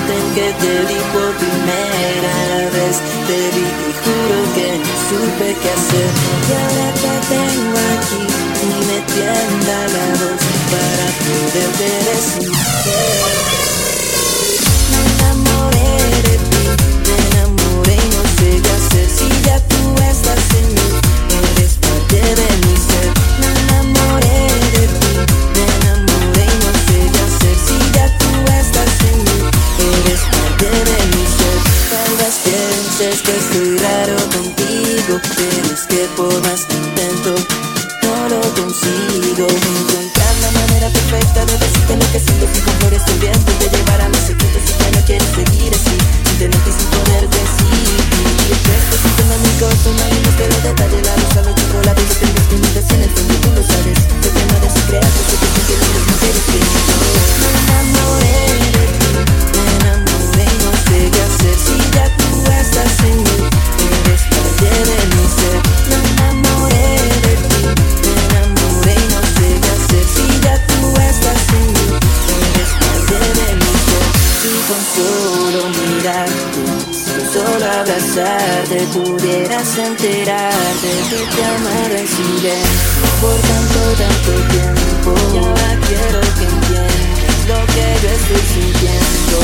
instante en que te vi por primera vez, te vi y juro que no supe qué hacer. Y ahora te tengo aquí y me tiembla la voz para poderte decir que me enamoré de ti, me enamoré y no sé qué hacer. Si ya tú estás en mí, eres parte de mi ser. Me enamoré de ti, me enamoré y no sé qué hacer. Si ya tú estás en mí, eres parte de mi ser. Tal vez pienses que estoy raro contigo, pero es que por más que intento, no lo consigo. Encontrar la manera perfecta de decirte lo que siento sin correr este viento, de llevar a mis secretos y que no quieres seguir así, sin tenerte y sin poder decidir. Y esto sintiendo mi corto, no hay más que los detalles, la luz a los chocolates, yo tengo timidas en el fondo, tú lo sabes. Sé que no eres creado, sé que siempre lo mismo que eres que yo. Me enamoré de ti, me enamoré y no sé qué hacer. Si ya tú estás en mí, eres parte de mi ser. Me enamoré de ti, me enamoré y no sé qué hacer. Si ya tú estás en mí, eres parte de mi ser. Si con solo mirarte, si solo abrazarte, pudieras enterarte que te amara en silencio por tanto, tanto tiempo. Y ahora quiero que entiendas lo que yo estoy sintiendo.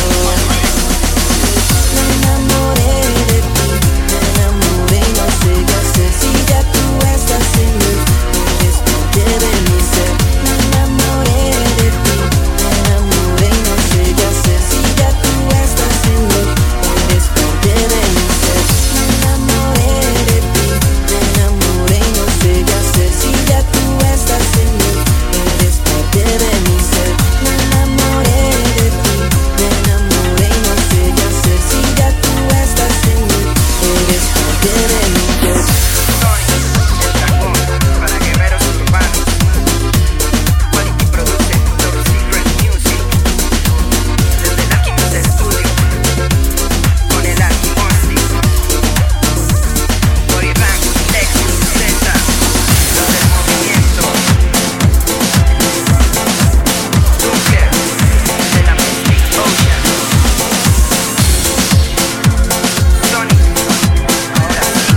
Me enamoré de ti, me enamoré y no sé qué hacer. Si ya tú estás en mí, eres parte de mi ser. Me enamoré de ti, me enamoré y no sé qué hacer. Si ya tú estás en mí, eres parte de mi ser. Me enamoré de ti, me enamoré y no sé qué hacer. Si ya tú estás en mí, eres parte de mi ser. Me enamoré de ti, me enamoré y no sé qué hacer. Si ya tú estás en mí, eres parte de mi ser. El dragón para guerreros urbanos. Quality produce Top Secret Music. Desde el Alchemist Studio con el Alchemist. Body Rank, Lexus, Z, los del movimiento. Nuclear de la Mystic Ocean. Sonic, ahora sí.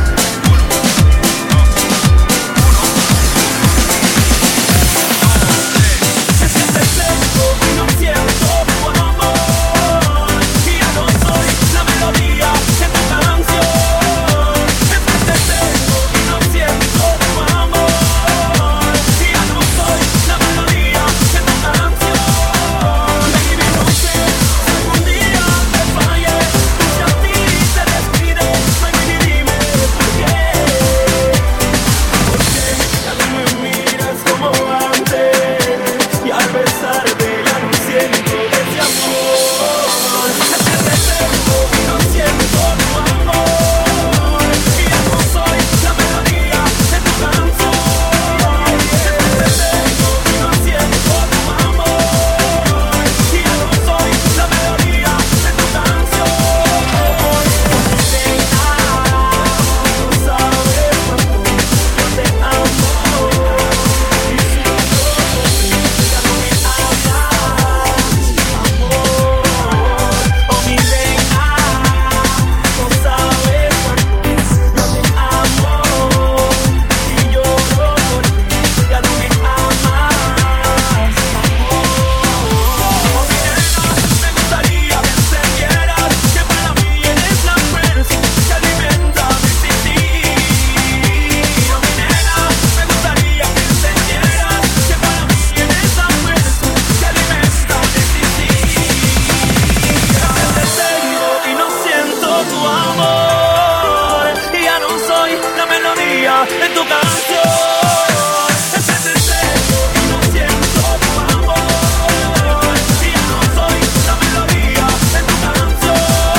Se siente seco y no siento tu amor, y ya no soy la melodía de tu canción. Se siente seco y no siento tu amor, y ya no soy la melodía de tu canción. Baby, no sé si algún día te fallé, si a ti te despide, baby, dime por qué. Porque ya no me miras como antes, y al besarte ya no siento ese amor. Se siente seco y no siento tu amor, y ya no soy la melodía de tu canción. Se siente seco y no siento tu amor, y ya no soy la melodía de tu canción. Tú sabes cuánto yo te amo, y si yo ya no me amas, amor, oh mi reina, no sabes cuánto yo te amo, y lloro porque ya no me amas, amor. Oh mi nena, me gustaría que entendieras que para mí eres la fuerza que alimenta mi existir. Oh mi nena, me gustaría que entendieras que para mí eres la fuerza que alimenta mi existir. Te tengo y no siento tu amor, y ya no soy la melodía de tu canción. Te tengo y no siento tu amor, y ya no soy la melodía de tu canción.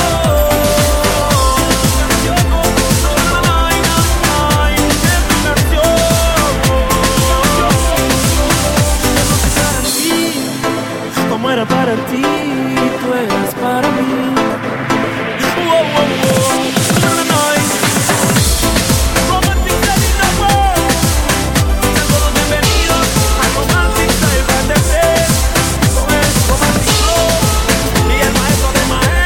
Yo como solo ay, ay, de tu canción. Como era para ti, tú eras para mí. Wow, wow, wow. No, no, no. Romantic Style in the world. Sean todos bienvenidos al Romantic Style Brand. Con el romántico y el maestro de maestros.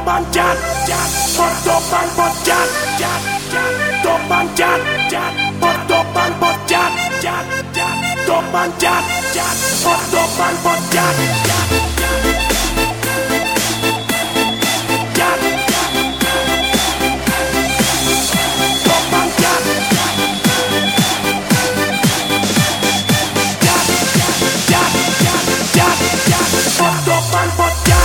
topan jat, pot topan pot jat, topan jat, pot topan pot jat, topan jat, pot topan pot jat, topan jat, pot topan pot jat.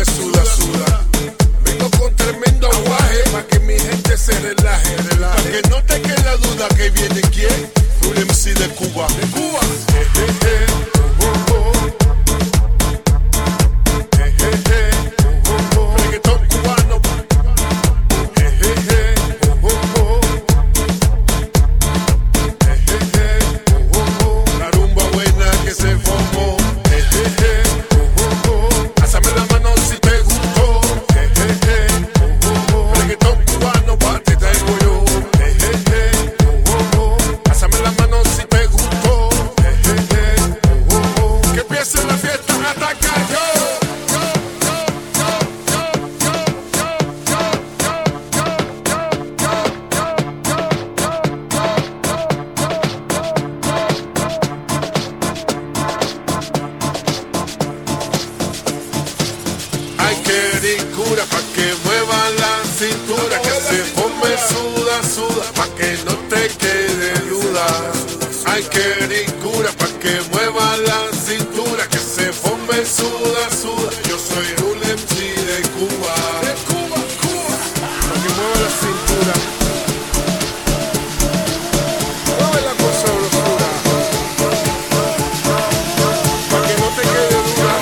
me suda, suda. Vengo con tremendo aguaje pa' que mi gente se relaje, pa' que no te quede la duda que viene quién, un MC de Cuba, de Cuba. Reggaetón cubano. La rumba buena que se formó. Pásame la mano si te gustó. Reggaetón cubano pa' ti traigo yo. Pásame la mano si te gustó. Que empiece la fiesta a atacar yo. Hay que ricura pa' que mueva la cintura, que se forme suda, suda, pa' que no te quede duda. Hay que ricura pa' que mueva la cintura, que se forme suda, suda. Yo soy un MC de Cuba. De Cuba, Cuba. Pa' que mueva la cintura. Mueve la cosa oscura. Pa' que no te quede duda.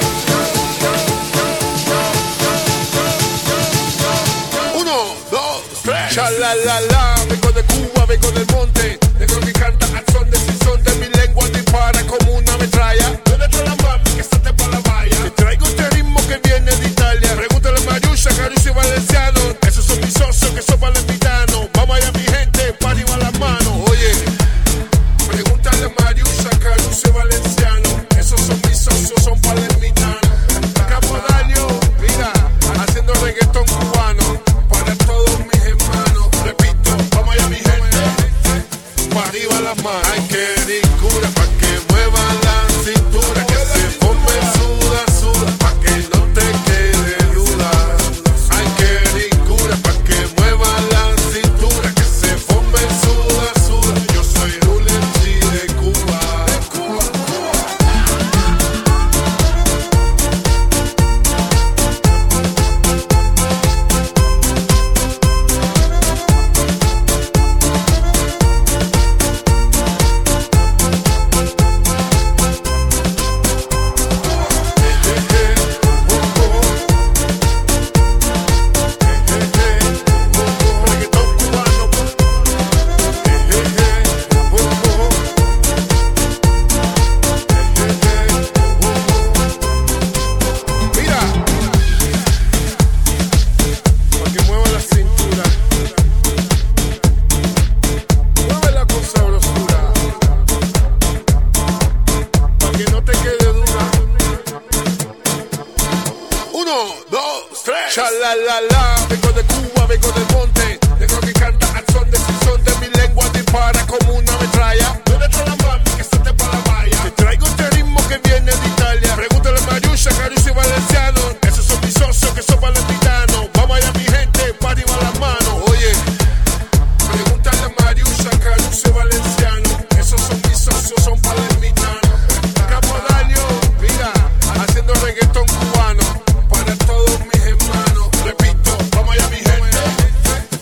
Uno, dos, tres. Cha-la-la-la. Vengo de Cuba, vengo del monte. Tengo que cantar al son de sinsonte. Mi lengua dispara como una metralla. ¿Dónde está la mami que salte pa' la valla? Te traigo este ritmo que viene de Italia. Pregúntale a Mariusha, Caruso y Valenciano. Esos son mis socios que son valentitanos. Vamos allá mi gente, pa' arriba las manos. Oye, pregúntale a Mariusha, Caruso y Valenciano. Esos son mis socios, son palermitanos. Capodaño, mira, haciendo reggaetón cubano para todos mis hermanos. Repito, vamos allá mi gente, pa' arriba las manos. Hay que ricura pa' que mueva la cintura, que se forme suda, suda, pa' que no te quede duda. Hay que ricura pa' que mueva la cintura, que se forme suda, suda. Yo soy un MC de Cuba. De Cuba, Cuba. Reggaetón cubano. Mira, pa' que mueva la cintura. Mueve la con sabrosura, pa' que no te quede duda. Uno, dos, tres. Cha-la-la-la. Vengo de Cuba, vengo del monte. Tengo que cantar al son de sinsonte. Mi lengua dispara como una metralla. ¿Dónde está la mami que salte pa' la valla? Te traigo este ritmo que viene de Italia. Pregúntale a Mariusha, Caruso y Valenciano. Esos son mis socios que son valentitanos. Vamos allá mi gente, pa' arriba las manos. Oye, pregúntale a Mariusha, Caruso y Valenciano. Esos son mis socios, son palermitanos. Capodaño, mira, haciendo reggaetón cubano para todos mis hermanos. Repito, vamos allá mi gente,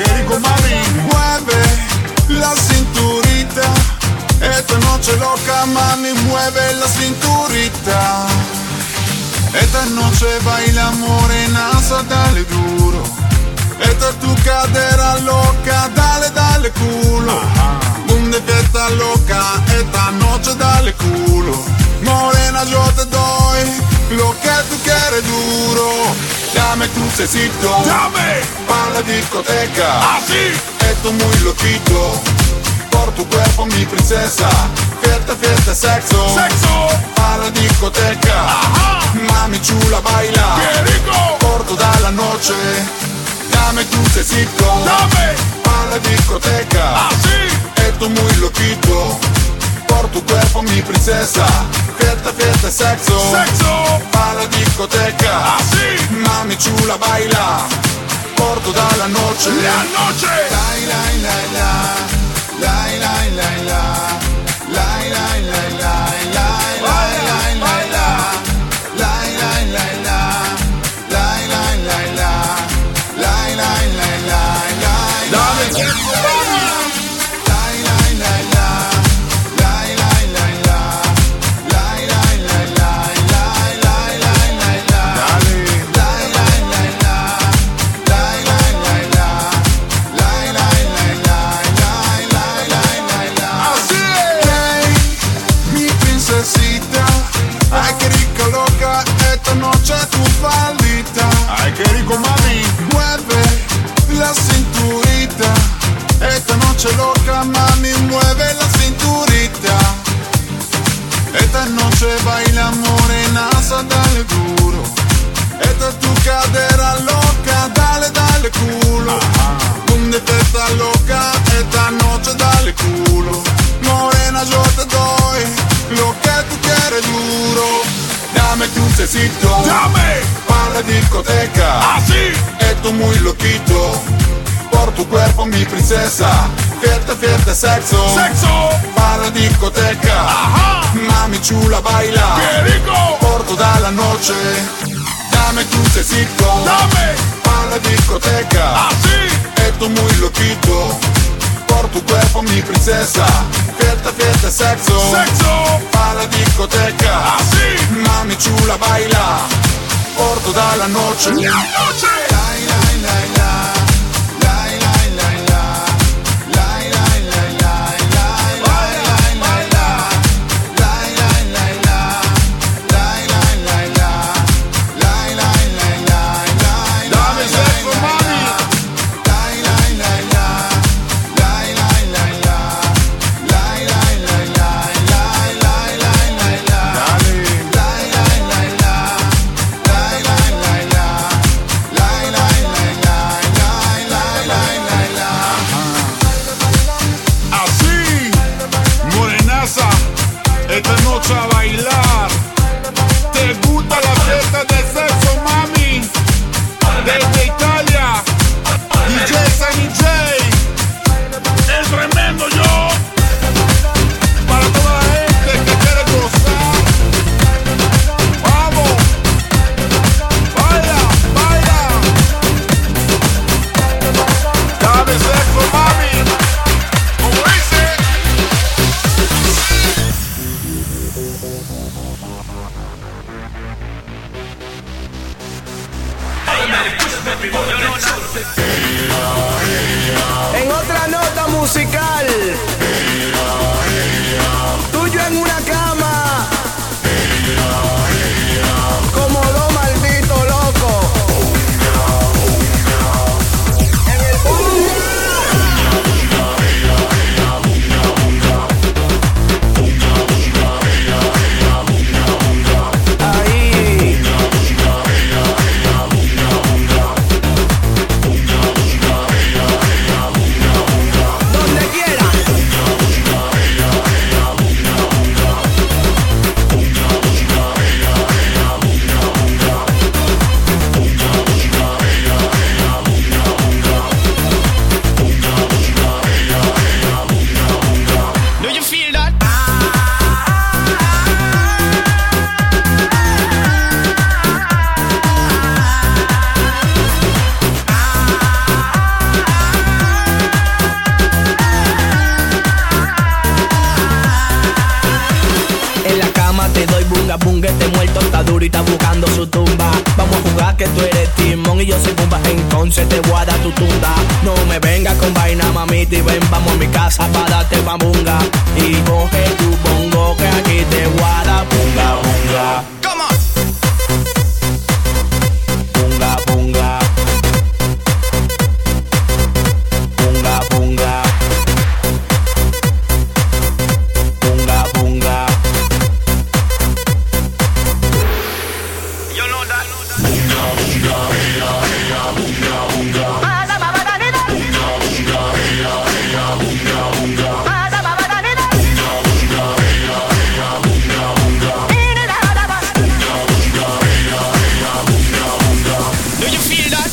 qué rico, mami. Mueve la cinturita. Esta noche loca, mami, mueve la cinturita. Esta noche baila morenaza, dale duro. Esta es tu cadera loca, dale, dale culo. Donde fiesta loca, esta noche dale culo. Morena, yo te doy lo que tú quieres duro. Dame crucecito, Dame, pa' la discoteca. así, Esto muy loquito, por tu cuerpo mi princesa. Fiesta, fiesta, sexo, sexo, pa' la discoteca. ajá, Mami chula baila, qué rico, por toda la noche. Dame crucecito, dame, pa' la discoteca. así, Esto muy loquito, por tu cuerpo mi princesa. Fiesta, fiesta, sexo, sexo, pa' la discoteca. así, Mami chula baila, por toda la noche. la noche, Lai, lai, lai, la. Lai, lai, lai, la. Lai, lai, lai, lai, lai, lai, lai, lai, la. Lai, lai, lai, la. Lai, lai, lai, la. Lai, lai, lai, lai, lai, dame, lai, sexo, lai, mami. lai, lai, lai, la. Lai, lai, lai, la. Lai, lai, lai, lai, lai, lai, lai, lai, la. Dale, Lai, lai, lai, la. Lai, lai, lai, la. Lai, lai, lai, lai, lai, lai, lai, lai, la. así Hey, mi princesita, ay qué rica loca, esta noche tu faldita. ay, qué rico, mami, Mueve la cinturita, esta noche loca, mami, mueve la cinturita. Esta noche baila morenaza, dale duro. Esta es tu cadera loca, dale, dale culo. Donde te está loca, esta noche dale culo. Morena, yo te doy lo que tú quieres duro. Dame crucecito, dame, pa' la discoteca. así, Esto muy loquito, por tu cuerpo mi princesa. Fiesta, fiesta, sexo, sexo, pa' la discoteca. ajá, Mami chula baila, qué rico, por toda la noche. Dame crucecito, dame, pa' la discoteca. así, Esto muy loquito, por tu cuerpo mi princesa. Fiesta, fiesta, sexo, sexo, pa' la discoteca. así, Mami chula baila, por toda la noche. la noche, Lai, lai, lai, la. Lai, lai, lai, la. Lai, lai, lai, lai, lai, lai, lai, lai, la. Lai, lai, lai, la. Lai, lai, lai, la. Lai, lai, lai, lai, lai, dame lai, sexo, lai, mami, Lai, lai, lai, la. Lai, lai, lai, la. Lai, lai, lai, lai, lai, lai, lai, lai, la. dale, Lai, lai, lai, la. Lai, lai, lai, la. Lai, lai, lai, lai, lai, lai, lai, lai, la. así, morenaza, esta noche a bailar. ¿Te gusta la fiesta de sexo, mami? Desde Italia, DJ Sunny J, el tremendo yo, para toda la gente que quiere gozar. Vamos, baila, baila, dame sexo, mami, como dice. En otra nota musical, tuyo en una cama, como dos malditos locos. En el ahí. Donde quiera ahorita buscando su tumba. Vamos a jugar que tú eres Timón y yo soy Pumba, entonces te voy a dar tu tunda. No me vengas con vaina, mamita, y ven, vamos a mi casa para darte bambunga. Y coge tu bongo que aquí te voy a dar bunga, bunga. Come on. Bunga, bunga. Bunga, bunga. Bunga, bunga. You know that. Do you feel that?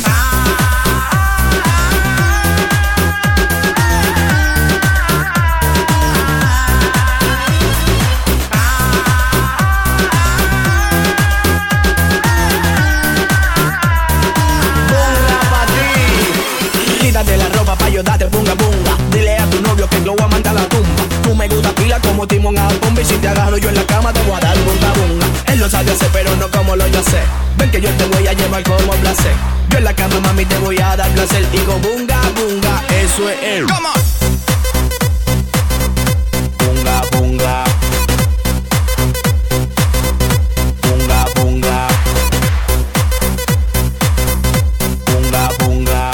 Quítate la ropa pa' yo darte bunga bunga. Dile a tu novio que lo voy a mandar a la tumba. Tú me gusta pila como Timón a bomba. Y si te agarro yo en la cama te voy a dar bunga bunga. Él lo sabe hacer pero no como lo yo sé. Ven que yo te voy a llevar como placer. Yo en la cama mami te voy a dar placer. Y con bunga bunga, eso es él. Come on. Bunga bunga. Bunga bunga. Bunga bunga.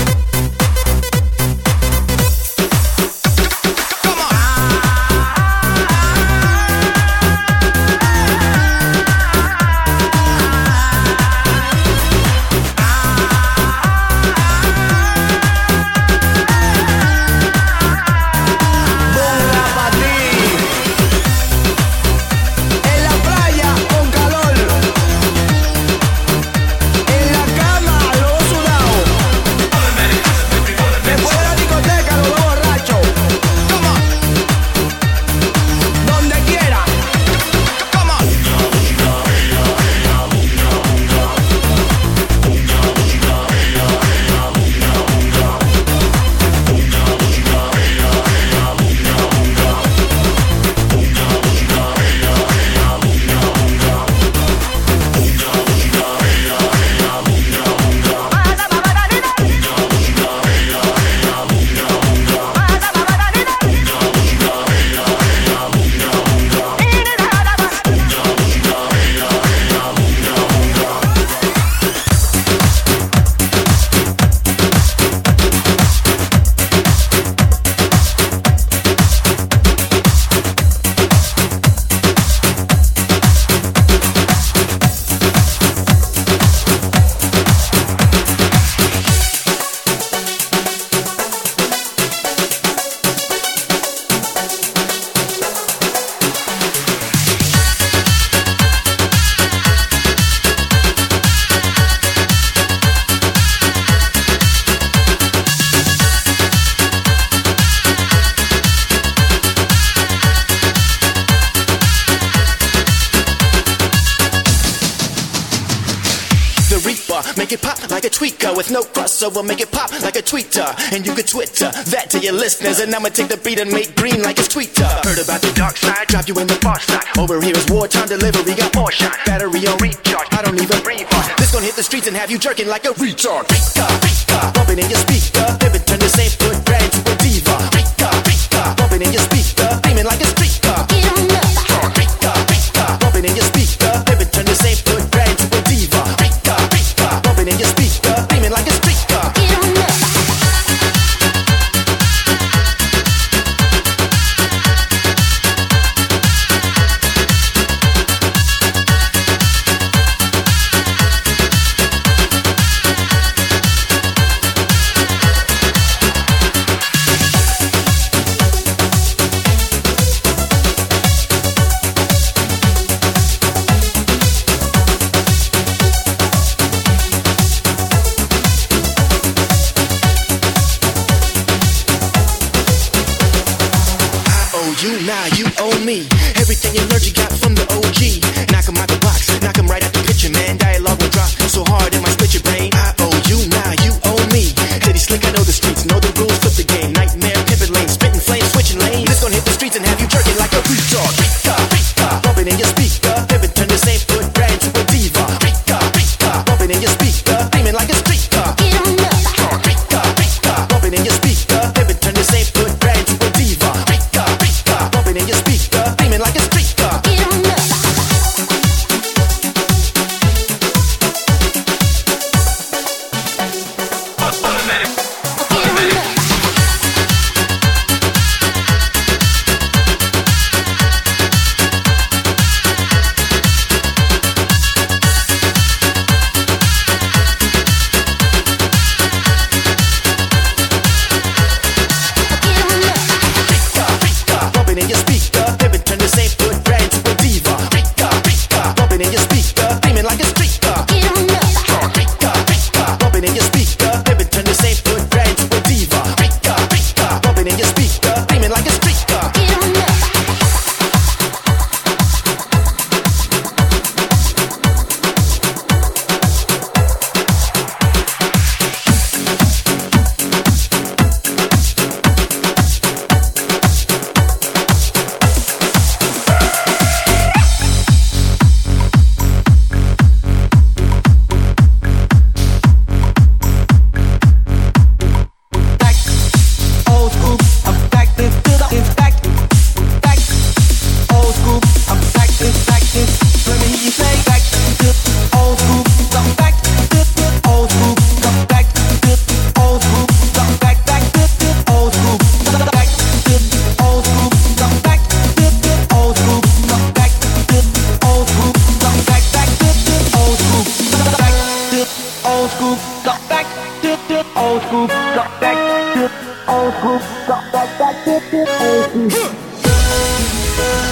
Make it pop like a tweaker with no crossover. Make it pop like a tweeter, and you can Twitter that to your listeners. And I'ma take the beat and make green like it's tweeter. Heard about the dark side, drop you in the far side. Over here is wartime delivery, got more shot. Battery on recharge, I don't even breathe hard. This gon' hit the streets and have you jerking like a retard. Rika, Rika, bumping in your speaker. Pivot, turn the same foot brand to a diva. Rika, Rika, bumping in your speaker. Beaming like a streaker. Rika, Rika, bumping in your speaker. Pivot, turn the same foot brand to a diva. Rika, Rika, bumping in your speaker. Beaming like a streaker. Now you owe me everything you learned you got from the OG. Knock 'em out the box, knock 'em right out the picture, man. Dialogue will drop so hard it might split your brain. I owe you, now you owe me. City slick, I know the streets, know the rules, flip the game. Nightmare, pivot lane, spitting flames, switching lanes. This gon' hit the streets and have you jerking like a retard. Rika, Rika, bumping in your speaker. Pivot, turn the same foot brand to a Old school, got that shit,